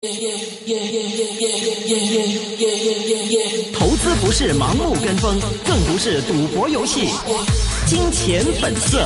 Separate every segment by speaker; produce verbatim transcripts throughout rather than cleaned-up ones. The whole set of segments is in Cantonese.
Speaker 1: 投资不是盲目跟风，更不是赌博游戏。金钱本色。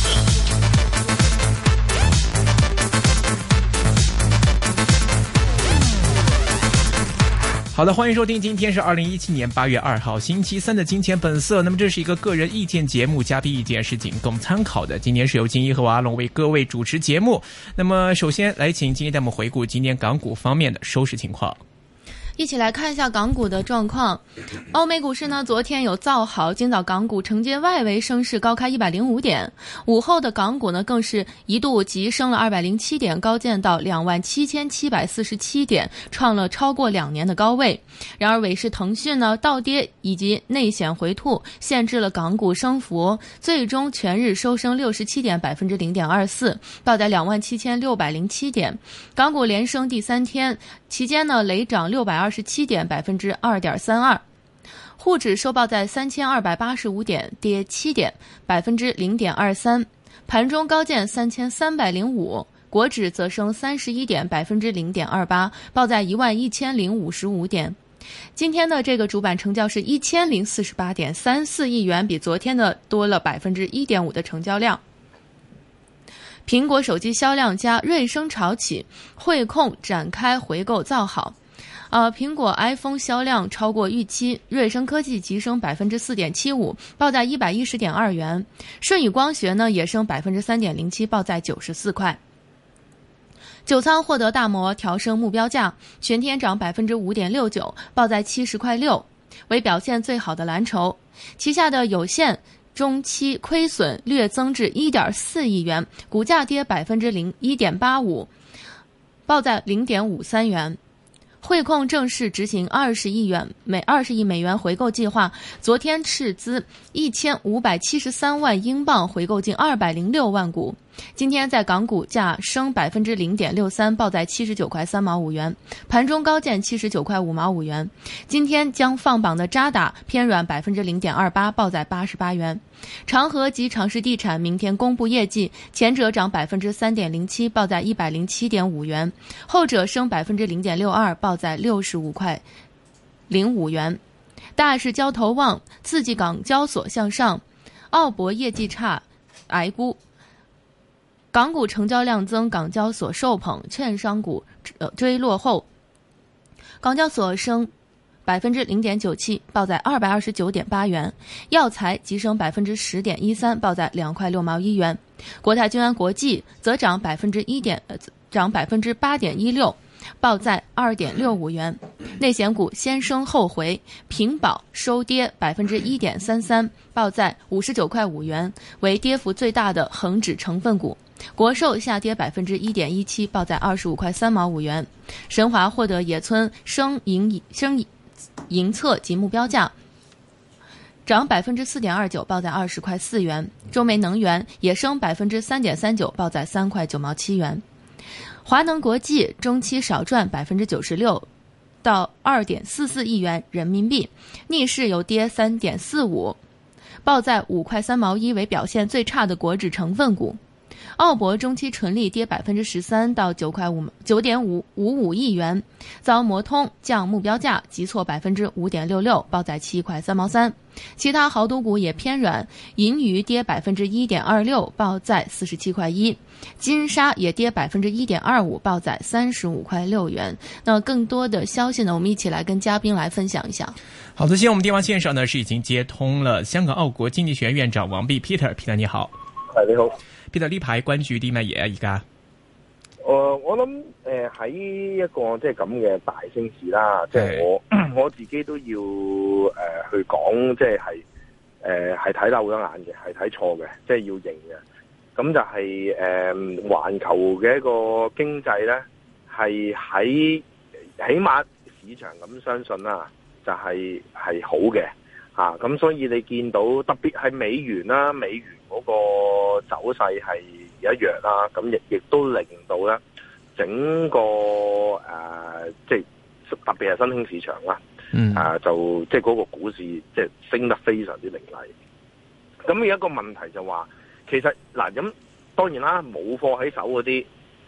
Speaker 1: 好的，欢迎收听，今天是二零一七年八月二号星期三的金钱本色。那么这是一个个人意见节目，嘉宾意见是仅供参考的。今天是由金一和阿龙为各位主持节目。那么首先来请金一带我们回顾今天港股方面的收市情况。
Speaker 2: 一起来看一下港股的状况。欧美股市呢，昨天有造好，今早港股承接外围升势高开一百零五点，午后的港股呢更是一度急升了二百零七点，高见到两万七千七百四十七点，创了超过两年的高位。然而尾市腾讯呢倒跌以及内险回吐，限制了港股升幅，最终全日收升六十七点，百分之零点二四，报在两万七千六百零七点。港股连升第三天，期间呢累涨六百二十七点，百分之二点三二。沪指收报在三千二百八十五点，跌七点，百分之零点二三。盘中高见三千三百零五，国指则升三十一点，百分之零点二八，报在一万一千零五十五点。今天的这个主板成交是一千零四十八点三四亿元，比昨天的多了百分之一点五的成交量。苹果手机销量佳，瑞声潮起，汇控展开回购造好。呃，苹果 iPhone 销量超过预期，瑞声科技急升百分之四点七五，报在一百一十点二元。舜宇光学呢也升百分之三点零七，报在九十四块。九仓获得大摩调升目标价，全天涨百分之五点六九，报在七十块六，为表现最好的蓝筹。旗下的有线中期亏损略增至一点四亿元，股价跌百分之零一点八五，报在零点五三元。汇控正式执行二十亿元每二十亿美元回购计划，昨天斥资一千五百七十三万英镑回购近二百零六万股。今天在港股价升百分之零点六三，报在七十九块三毛五元，盘中高见七十九块五毛五元。今天将放榜的渣打偏软百分之零点二八，报在八十八元。长和及长实地产明天公布业绩，前者涨百分之三点零七，报在一百零七点五元，后者升百分之零点六二，报在六十五块零五元。大市交投旺，刺激港交所向上。澳博业绩差，挨估。港股成交量增，港交所受捧，券商股追落后。港交所升百分之零点九七，报在二百二十九点八元。药材急升百分之十点一三，报在两块六毛一元。国泰君安国际则涨百分之一点，涨百分之八点一六，报在二点六五元。内险股先升后回，平保收跌百分之一点三三，报在五十九块五元，为跌幅最大的恒指成分股。国寿下跌百分之一点一七，报在二十五块三毛五元。神华获得野村升盈升盈测及目标价，涨百分之四点二九，报在二十块四元。中煤能源也升百分之三点三九，报在三块九毛七元。华能国际中期少赚百分之九十六，到二点四四亿元人民币，逆势有跌三点四五，报在五块三毛一，为表现最差的国指成分股。澳博中期纯利跌百分之十三，到九块五九点五五五亿元，遭摩通降目标价，急挫百分之五点六六，报在七块三毛三。其他豪赌股也偏软，银娱跌百分之一点二六，报在四十七块一。金沙也跌百分之一点二五，报在三十五块六元。那更多的消息呢，我们一起来跟嘉宾来分享一下。
Speaker 1: 好的，现在我们电话线上呢是已经接通了香港澳國經濟學院院長王弼 Peter。Peter 你好。
Speaker 3: 係你好。
Speaker 1: Peter 呢排關注啲乜嘢啊？而家？
Speaker 3: 誒，我諗誒喺一個即係咁嘅大升市啦，即係我我自己都要誒、呃、去講，即係係誒係睇漏咗眼嘅，係睇錯嘅，即係要認嘅。咁就係誒環球嘅一個經濟咧，係喺起碼市場咁相信啦，就係係好嘅嚇。咁、啊、所以你見到特別係美元啦，美元嗰個走勢係一樣啦，咁亦亦都令到咧整個誒、呃，即係特別係新興市場啦，嗯，啊、呃、就即係嗰個股市即係升得非常之凌厲。咁有一個問題就話，其實嗱咁當然啦，冇貨喺手嗰啲，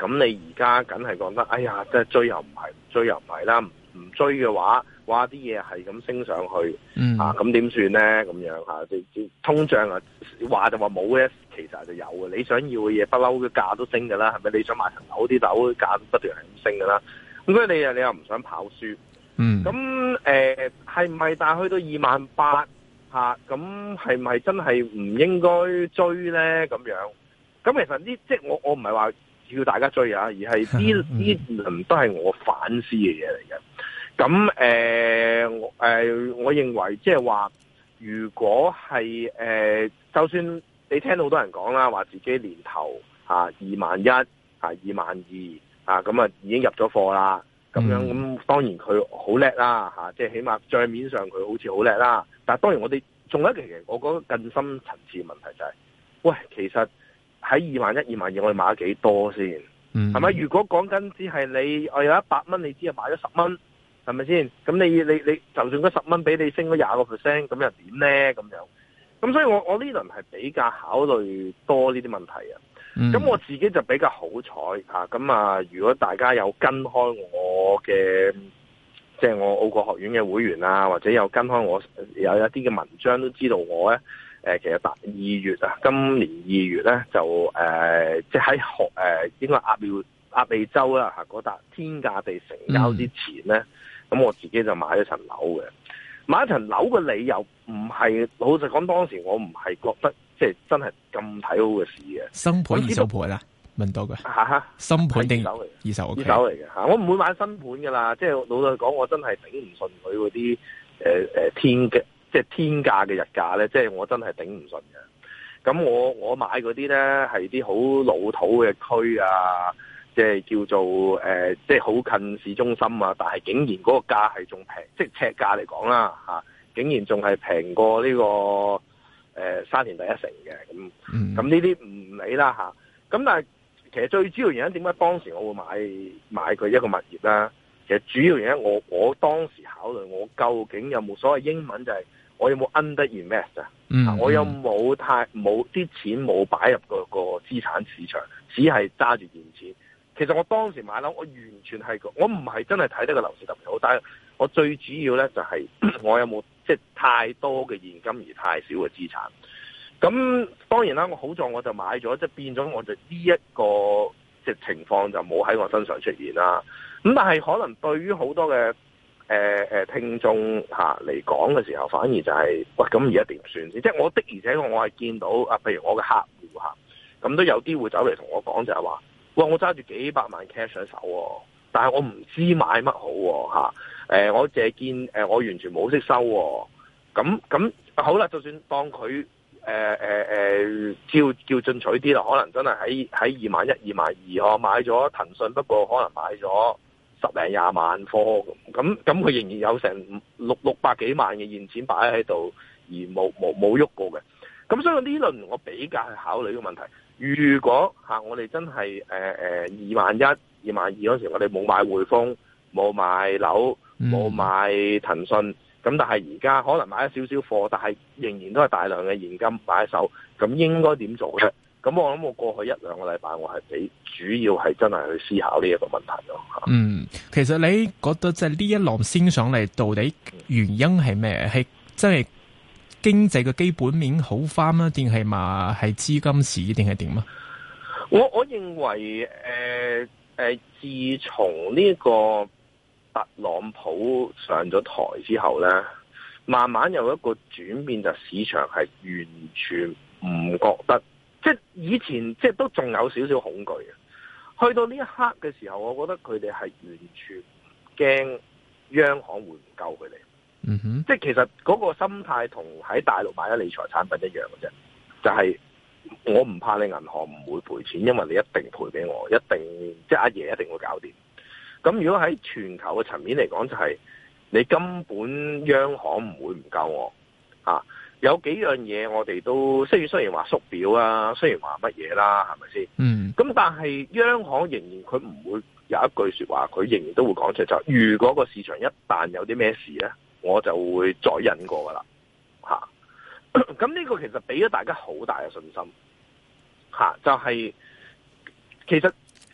Speaker 3: 咁你而家梗係覺得，哎呀，即係追又唔係，唔追又唔係啦，唔唔追嘅話，哇啲嘢係咁升上去，
Speaker 1: 嗯、
Speaker 3: 啊咁點算咧？咁樣嚇，即、啊、係通脹啊，話就話冇嘅，其實就有嘅。你想要嘅嘢不嬲嘅價都升㗎啦，係咪？你想買層樓啲樓價不斷係咁升㗎啦，咁所以你又你又唔想跑輸，
Speaker 1: 嗯，
Speaker 3: 咁誒係唔係？但係去到二萬八嚇，咁係唔係真係唔應該追咧？咁樣，咁其實呢，即係我我唔係話叫大家追啊，而係呢呢輪都係我反思嘅嘢嚟嘅。咁誒，我、呃呃、我認為即係話，如果係誒、呃，就算你聽到好多人講啦，話自己年頭嚇二萬一嚇二萬二啊，咁啊已經入咗貨啦，咁樣咁、嗯、當然佢好叻啦嚇，即係起碼帳面上佢好似好叻啦。但係當然我哋仲有一個其實我覺得更深層次嘅問題就係、是，喂，其實喺二萬一、二萬二，我哋買咗幾多先？係咪、嗯？如果講緊只係你我有一百蚊，你只係買咗十蚊，係咪先？咁你你你就算嗰十蚊俾你升咗廿個 percent，咁又點咧？咁樣，咁所以我我呢輪係比較考慮多呢啲問題啊。咁、嗯、我自己就比較好彩嚇，咁啊，如果大家有跟開我嘅，即係我澳國學院嘅會員啊，或者有跟開我有一啲嘅文章都知道我咧。誒，其實大二月啊，今年二月咧就誒，即係喺學誒，應該鴨寮鴨脷洲啦嚇，嗰笪天價地成交之前咧，咁、嗯、我自己就買咗層樓嘅。買一層樓嘅理由唔係，老實講，當時我唔係覺得即係真係咁睇好嘅事嘅。
Speaker 1: 新盤二手盤啦，問到嘅
Speaker 3: 嚇嚇，
Speaker 1: 新盤定
Speaker 3: 二手嚟？
Speaker 1: 二手，okay、
Speaker 3: 二手嚟嘅嚇，我唔會買新盤噶啦。即係老實講，我真係頂唔順佢嗰啲誒誒天嘅。即係天價嘅日價咧，即係我真係頂唔順嘅。咁我我買嗰啲咧係啲好老土嘅區啊，即係叫做誒、呃，即係好近市中心啊。但係竟然嗰個價係仲平，即係尺價嚟講啦嚇，竟然仲係平過呢、這個誒、呃、沙田第一城嘅。咁咁呢啲唔理啦嚇。咁但係其實最主要原因點解當時我會買買佢一個物業咧？其實主要原因我我當時考慮我究竟有冇所謂英文就係、是。我有冇 under invest 啊？嗯、我有冇太冇啲錢冇擺入個個資產市場，只係揸住現錢。其實我當時買樓，我完全係我唔係真係睇得個樓市特別好，但係我最主要咧就係、是、我有冇即係太多嘅現金而太少嘅資產。咁當然啦，我好在我就買咗，即係變咗我就呢一個即係情況就冇喺我身上出現啦。咁但係可能對於好多嘅誒誒、呃，聽眾吓嚟講嘅時候，反而就係、是、喂，咁而家點算先？即係我的，而且我我係見到啊，譬如我嘅客戶吓，咁都有啲會走嚟同我講，就係話，喂，我揸住幾百萬 cash 喺手，但係我唔知買乜好吓。誒、呃，我淨係見誒，我完全冇識收。咁咁好啦，就算當佢誒誒誒，叫叫進取啲啦，可能真係喺喺二萬一、二萬二，我買咗騰訊，不過可能買咗十零廿萬貨咁，咁佢仍然有成六六百幾萬嘅現錢擺喺度，而冇冇冇喐過嘅。咁所以呢輪我比較去考慮呢個問題。如果嚇、啊、我哋真係誒誒二萬一、二萬二嗰時，我哋冇買匯豐、冇買樓、冇買騰訊，咁、嗯、但係而家可能買咗少少貨，但係仍然都係大量嘅現金擺喺手，咁應該點做咧？咁我諗我過去一兩個禮拜，我係比主要係真係去思考呢一個問題咯。
Speaker 1: 嗯，其實你覺得即係呢一浪升上嚟，到底原因係咩？係真係經濟嘅基本面好翻啊？定係嘛係資金市定係點啊？
Speaker 3: 我我認為誒誒、呃呃，自從呢個特朗普上咗台之後咧，慢慢有一個轉變，就市場係完全唔覺得。即係以前，即係都仲有少少恐懼嘅。去到呢一刻嘅時候，我覺得佢哋係完全唔驚央行會唔救佢哋。
Speaker 1: 嗯哼，即
Speaker 3: 係其實嗰個心態同喺大陸買咗理財產品一樣嘅啫。就係、是、我唔怕你銀行唔會賠錢，因為你一定賠俾我，一定即係阿爺一定會搞掂。咁如果喺全球嘅層面嚟講，就係、是、你根本央行唔會唔救我啊。有幾樣嘢我哋都雖然雖然話縮表啊，雖然話乜嘢啦，係咪先？嗯。咁但係央行仍然佢唔會有一句說話，佢仍然都會講出就係、是，如果個市場一旦有啲咩事咧，我就會再忍過噶啦。吓、啊，咁呢個其實俾咗大家好大嘅信心。吓、啊，就係、是、其實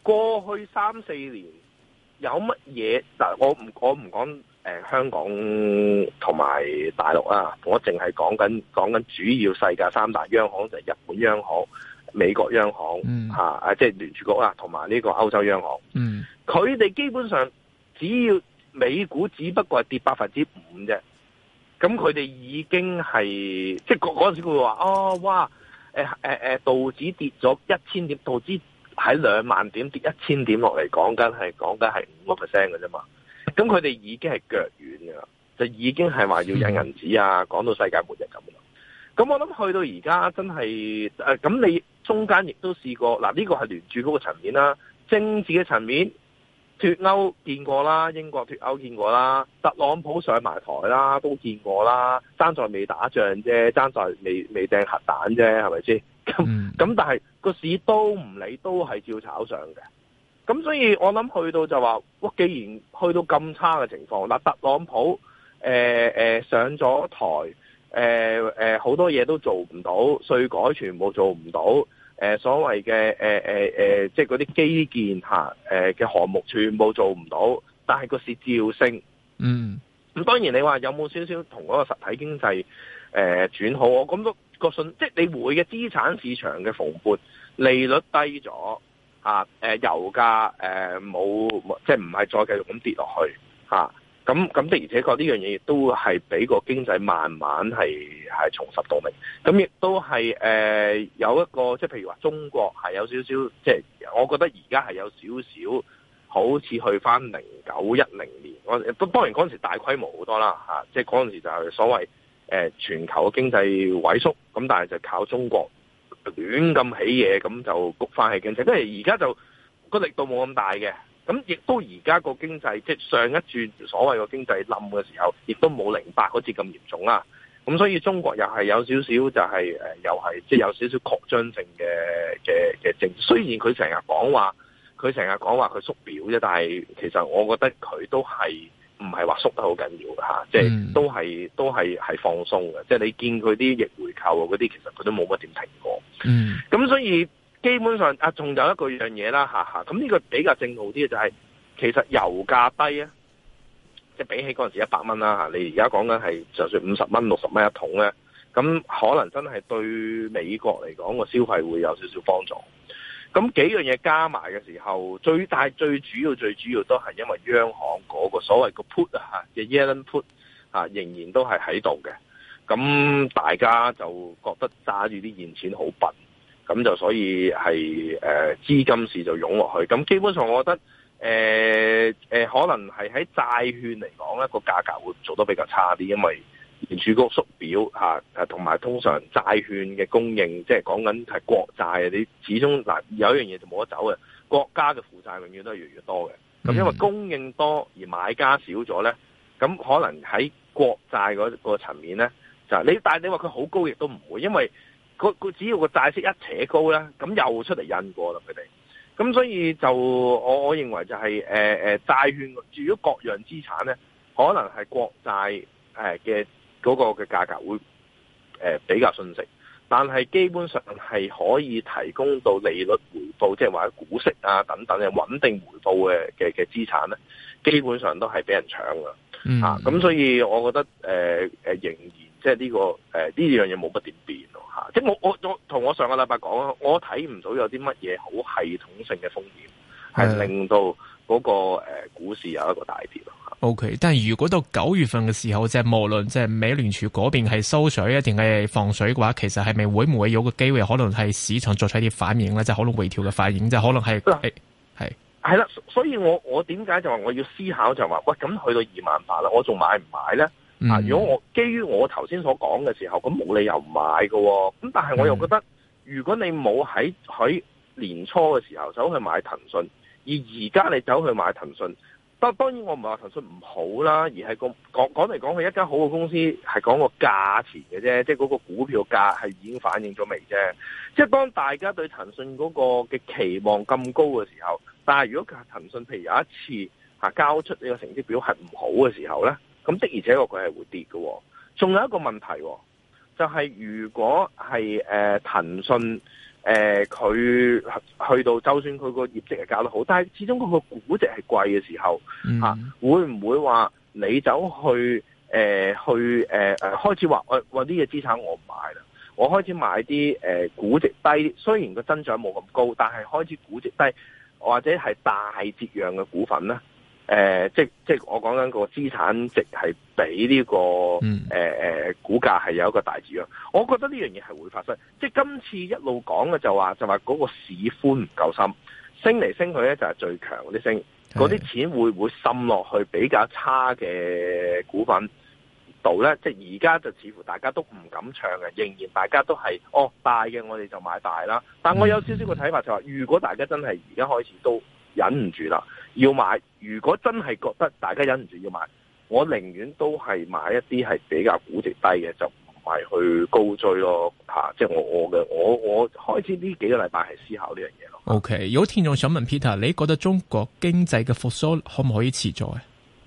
Speaker 3: 過去三四年有乜嘢？嗱，我唔我唔講誒香港同埋大陸啊，我淨係講緊講緊主要世界三大央行就係、是、日本央行、美國央行、嗯、啊，即係聯儲局啊，同埋呢個歐洲央行。嗯，佢哋基本上只要美股只不過係跌百分之五啫，咁佢哋已經係即係嗰嗰陣時佢會話哦，哇，誒誒誒，道指跌咗一千點，道指喺兩萬點跌一千點落嚟，講緊係講緊係五個 percent 嘅啫嘛。咁佢哋已經係腳軟嘅啦，就已經係話要印銀紙啊，講到世界末日咁啦。咁我諗去到而家真係誒，咁、呃、你中間亦都試過嗱，呢、這個係聯儲嗰個層面啦，政治嘅層面脫歐見過啦，英國脫歐見過啦，特朗普上埋台啦都見過啦，爭在未打仗啫，爭在未未掟核彈啫，係咪先？咁咁但係個市都唔理，都係照炒上嘅。咁所以我諗去到就話，哇！既然去到咁差嘅情況，嗱，特朗普誒誒、呃呃、上咗台，誒誒好多嘢都做唔到，稅改全部做唔到，誒、呃、所謂嘅誒誒誒，即係嗰啲基建嚇誒嘅項目全部做唔到，但係個市照升。嗯。咁當然你話有冇少少同嗰個實體經濟誒、呃、轉好？我咁多個信，即係你會嘅資產市場嘅蓬勃，利率低咗。啊！誒油價誒冇，即係唔係再繼續咁跌落去嚇？咁咁的而且確呢樣嘢亦都係俾個經濟慢慢係係重拾動力。咁亦都係誒、呃、有一個即係譬如話中國係有少少，即係我覺得而家係有少少好似去翻零九一零年。我都當然嗰陣時大規模好多啦嚇，即係嗰陣時就係所謂誒、呃、全球嘅經濟萎縮，咁但係就靠中國。亂咁起嘢，咁就谷翻起經濟，跟住而家就個力度冇咁大嘅，咁亦都而家個經濟即係上一轉所謂個經濟冧嘅時候，亦都冇零八嗰次咁嚴重啦。咁所以中國又係有少少就係、是、誒、呃，又係即係有少少擴張性嘅嘅嘅政。雖然佢成日講話，佢成日講話佢縮表啫，但係其實我覺得佢都係。唔係話縮得好緊要嘅嚇，即係都係都係係放鬆嘅。即係你見佢啲逆回購嗰啲，其實佢都冇乜點停過。嗯，咁所以基本上啊，仲有一個樣嘢啦嚇嚇。咁呢個比較正路啲嘅就係、是，其實油價低啊，即係比起嗰陣時一百蚊啦嚇，你而家講緊係就算五十蚊、六十蚊一桶咧，咁可能真係對美國嚟講個消費會有少少幫助。咁幾樣嘢加埋嘅時候，最大最主要最主要都係因為央行嗰個所謂個 put 啊嘅 Yellen put 啊，仍然都係喺度嘅。咁大家就覺得揸住啲現錢好笨，咁就所以係誒、呃、資金市就湧落去。咁基本上我覺得誒誒、呃呃、可能係喺債券嚟講咧，個價格會做得比較差啲，因為聯儲局縮表嚇，同埋通常債券嘅供應，即係講緊係國債，你始終嗱有一樣嘢就冇得走嘅，國家嘅負債永遠都係越嚟越多嘅。咁因為供應多而買家少咗咧，咁可能喺國債嗰個層面咧，就你但係你話佢好高亦都唔會，因為佢佢只要個債息一扯高咧，咁又出嚟印過啦佢哋。咁所以就我我認為就係誒誒債券，如果各樣資產咧，可能係國債誒嘅。嗰個嘅價格會誒、呃、比較遜色，但係基本上係可以提供到利率回報，即係話股息啊等等嘅穩定回報嘅嘅嘅資產咧，基本上都係俾人搶㗎。嗯、啊，咁所以我覺得誒誒、呃、仍然即係呢個誒呢樣嘢冇乜點變咯嚇。即係我我我同我上個禮拜講啊，我睇唔到有啲乜嘢好系統性嘅風險係令到嗰個誒股市有一個大跌咯。
Speaker 1: O、okay, K， 但係如果到九月份嘅時候，即係無論即係美聯儲嗰邊係收水啊，定係放水嘅話，其實係咪會唔會有個機會，可能係市場作出一啲反應咧？即係可能回調嘅反應，即係可能係係
Speaker 3: 係啦。所以我我點解就話我要思考就話，喂，咁去到二萬八啦，我仲買唔買咧？嗯、啊，如果我基於我頭先所講嘅時候，咁冇理由唔買嘅。咁但係我又覺得，嗯、如果你冇喺喺年初嘅時候走去買騰訊，而而家你走去買騰訊。當當然我唔係話騰訊唔好啦，而係個講講嚟講去一間好嘅公司係講個價錢嘅啫，即係嗰個股票價係已經反映咗未啫。即係當大家對騰訊嗰個嘅期望咁高嘅時候，但係如果騰訊譬如有一次嚇交出呢個成績表係唔好嘅時候咧，咁的而且確佢係會跌嘅。仲有一個問題，就係如果係誒騰訊誒佢、呃、去到就算佢個業績係搞得好，但係始終佢個估值係貴嘅時候，嚇、啊、會唔會話你走去誒、呃、去誒誒、呃、開始話我我啲嘢資產我唔買啦，我開始買啲誒、呃、估值低，雖然個增長冇咁高，但係開始估值低或者係大折讓嘅股份咧？誒、呃，即即我講緊個資產值係比呢、這個誒誒、嗯呃、股價係有一個大折讓，我覺得呢樣嘢係會發生。即今次一路講嘅就話就話嗰個市寬唔夠深，升嚟升去咧就係最強嗰啲升，嗰啲錢會唔會滲落去比較差嘅股份度咧？即而家就似乎大家都唔敢唱嘅，仍然大家都係哦大嘅我哋就買大啦。但我有少少個睇法就話，如果大家真係而家開始都忍唔住啦，要買。如果真係覺得大家忍唔住要買，我寧願都係買一啲係比較估值低嘅，就唔係去高追咯嚇、啊。即係我我嘅我我開始呢幾個禮拜係思考呢樣嘢咯。
Speaker 1: OK，有聽眾想問 Peter，你覺得中國經濟嘅復甦可唔可以持續啊？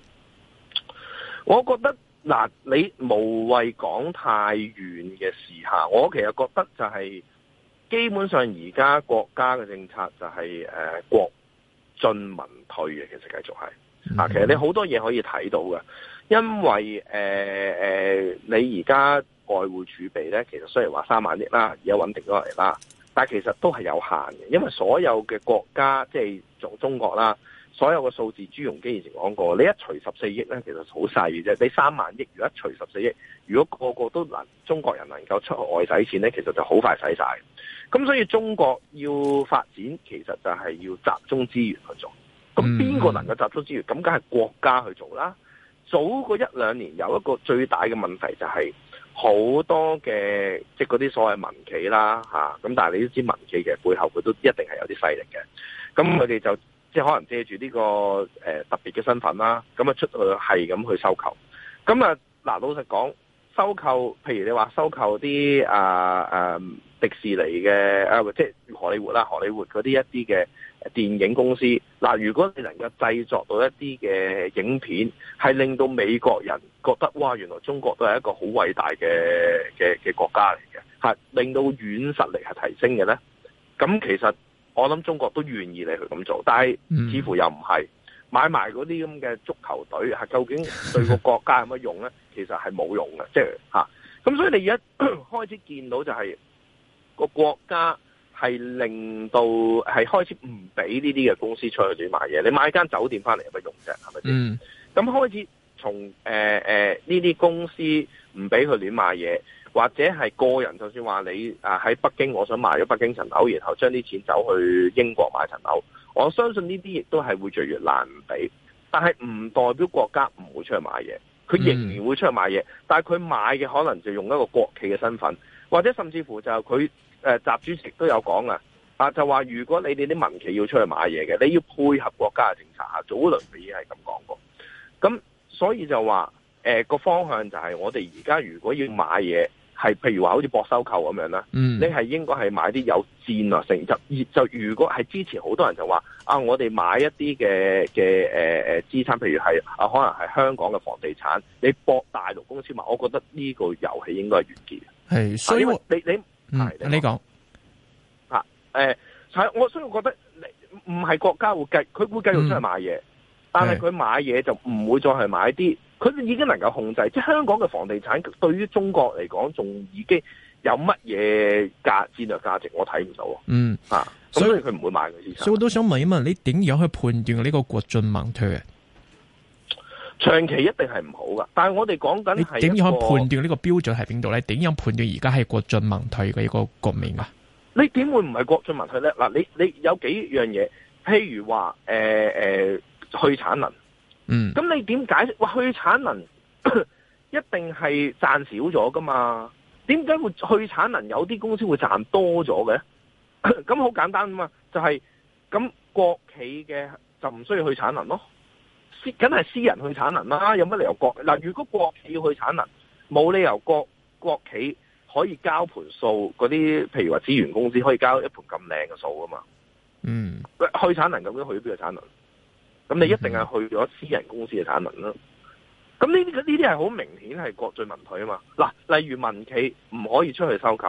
Speaker 3: 我覺得嗱，你無謂講太遠嘅時下，我其實覺得就係、是、基本上而家國家嘅政策就係、是、誒、呃、國進民退嘅，其實繼續係啊，其實你好多嘢可以睇到嘅，因為誒誒、呃呃，你而家外匯儲備咧，其實雖然話三萬億啦，而家穩定咗落嚟啦，但係其實都係有限嘅，因為所有嘅國家即係中中國啦，所有嘅數字朱鎔基以前講過，你一除十四億咧，其實好細嘅啫，你三萬億如果一除十四億，如果個個都能中國人能夠出外使錢咧，其實就好快使晒。咁所以中國要發展，其實就係要集中資源去做。咁邊個能夠集中資源？咁梗係國家去做啦。早嗰一兩年有一個最大嘅問題就係好多嘅即係嗰啲所謂民企啦嚇。咁但係你都知民企嘅背後佢都一定係有啲勢力嘅。咁佢哋就即係可能借住呢個誒特別嘅身份啦，咁啊出去係咁去收購。咁啊嗱，老實講，收購譬如你話收購啲啊啊迪士尼嘅啊，即係荷里活啦，荷里活嗰啲一啲嘅電影公司，嗱，如果你能夠製作到一啲嘅影片，係令到美國人覺得哇，原來中國都係一個好偉大嘅嘅嘅國家嚟嘅，係令到軟實力係提升嘅咧。咁其實我諗中國都願意你去咁做，但係似乎又唔係買埋嗰啲咁嘅足球隊，係究竟對個國家有乜用咧？其實係冇用嘅，即係嚇。咁所以你而家開始見到就係、是。個國家係令到係開始唔俾呢啲嘅公司出去亂買嘢，你買間酒店翻嚟有乜用啫？係咪先？咁、嗯、開始從誒誒呢啲公司唔俾佢亂買嘢，或者係個人就算話你啊喺北京，我想買咗北京層樓，然後將啲錢走去英國買層樓，我相信呢啲亦都係會越嚟越難唔俾，但係唔代表國家唔會出去買嘢，佢仍然會出去買嘢，但係佢買嘅可能就用一個國企嘅身份。或者甚至乎就佢誒習主席都有講啊，啊就話如果你哋啲民企要出去買嘢嘅，你要配合國家嘅政策嚇，早輪佢已經係咁講過。咁所以就話誒個方向就係我哋而家如果要買嘢，係譬如話好似博收購咁樣啦，嗯、你係應該係買啲有戰略性質。就如果係之前好多人就話啊，我哋買一啲嘅嘅誒誒資產，譬如係啊可能係香港嘅房地產，你博大陸公司買，我覺得呢個遊戲應該係完結嘅。係，所以你你係你講嚇誒，係我所以我覺得唔係國家會繼佢會繼續出去買嘢，嗯、但係佢買嘢就唔會再係買啲，佢已經能夠控制。即係香港嘅房地產對於中國嚟講，仲已經有乜嘢價戰略價值，我睇唔到。嗯啊，所以佢唔會買嗰啲。所以我都想問一問，你點樣去判斷呢個國進民退啊？長期一定係唔好噶，但係我哋講緊係點樣判斷呢個標準喺邊度咧？點樣判斷而家係國進民退嘅一個局面啊？你點會唔係國進民退咧？嗱，你你有幾樣嘢，譬如話誒誒去產能，嗯，咁你點解釋？哇，去產能一定係賺少咗噶嘛？點解會去產能有啲公司會賺多咗嘅？咁好簡單啊嘛，就係、是、咁國企嘅就唔需要去產能咯。梗係私人去產能啦，有乜理由國嗱？如果國企要去產能，冇理由國國企可以交盤數嗰啲，譬如話資源公司可以交一盤咁靚嘅數噶嘛？嗯，去產能究竟去咗邊個產能？咁你一定係去咗私人公司嘅產能啦。咁呢啲呢啲係好明顯係國進民退啊嘛。嗱，例如民企唔可以出去收購，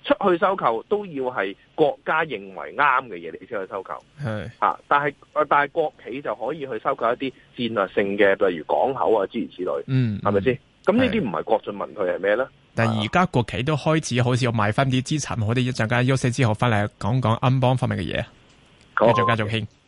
Speaker 3: 出去收購都要係國家認為啱嘅嘢，你先去收購。
Speaker 1: 係
Speaker 3: 啊，但係但係國企就可以去收購一啲戰略性嘅，例如港口啊諸如此類。嗯，係咪先？咁呢啲唔係國進民退係咩咧？
Speaker 1: 但係而家國企都開始好似要賣翻啲資產，我哋一陣間休息之後翻嚟講講安邦方面嘅嘢，繼續繼續傾。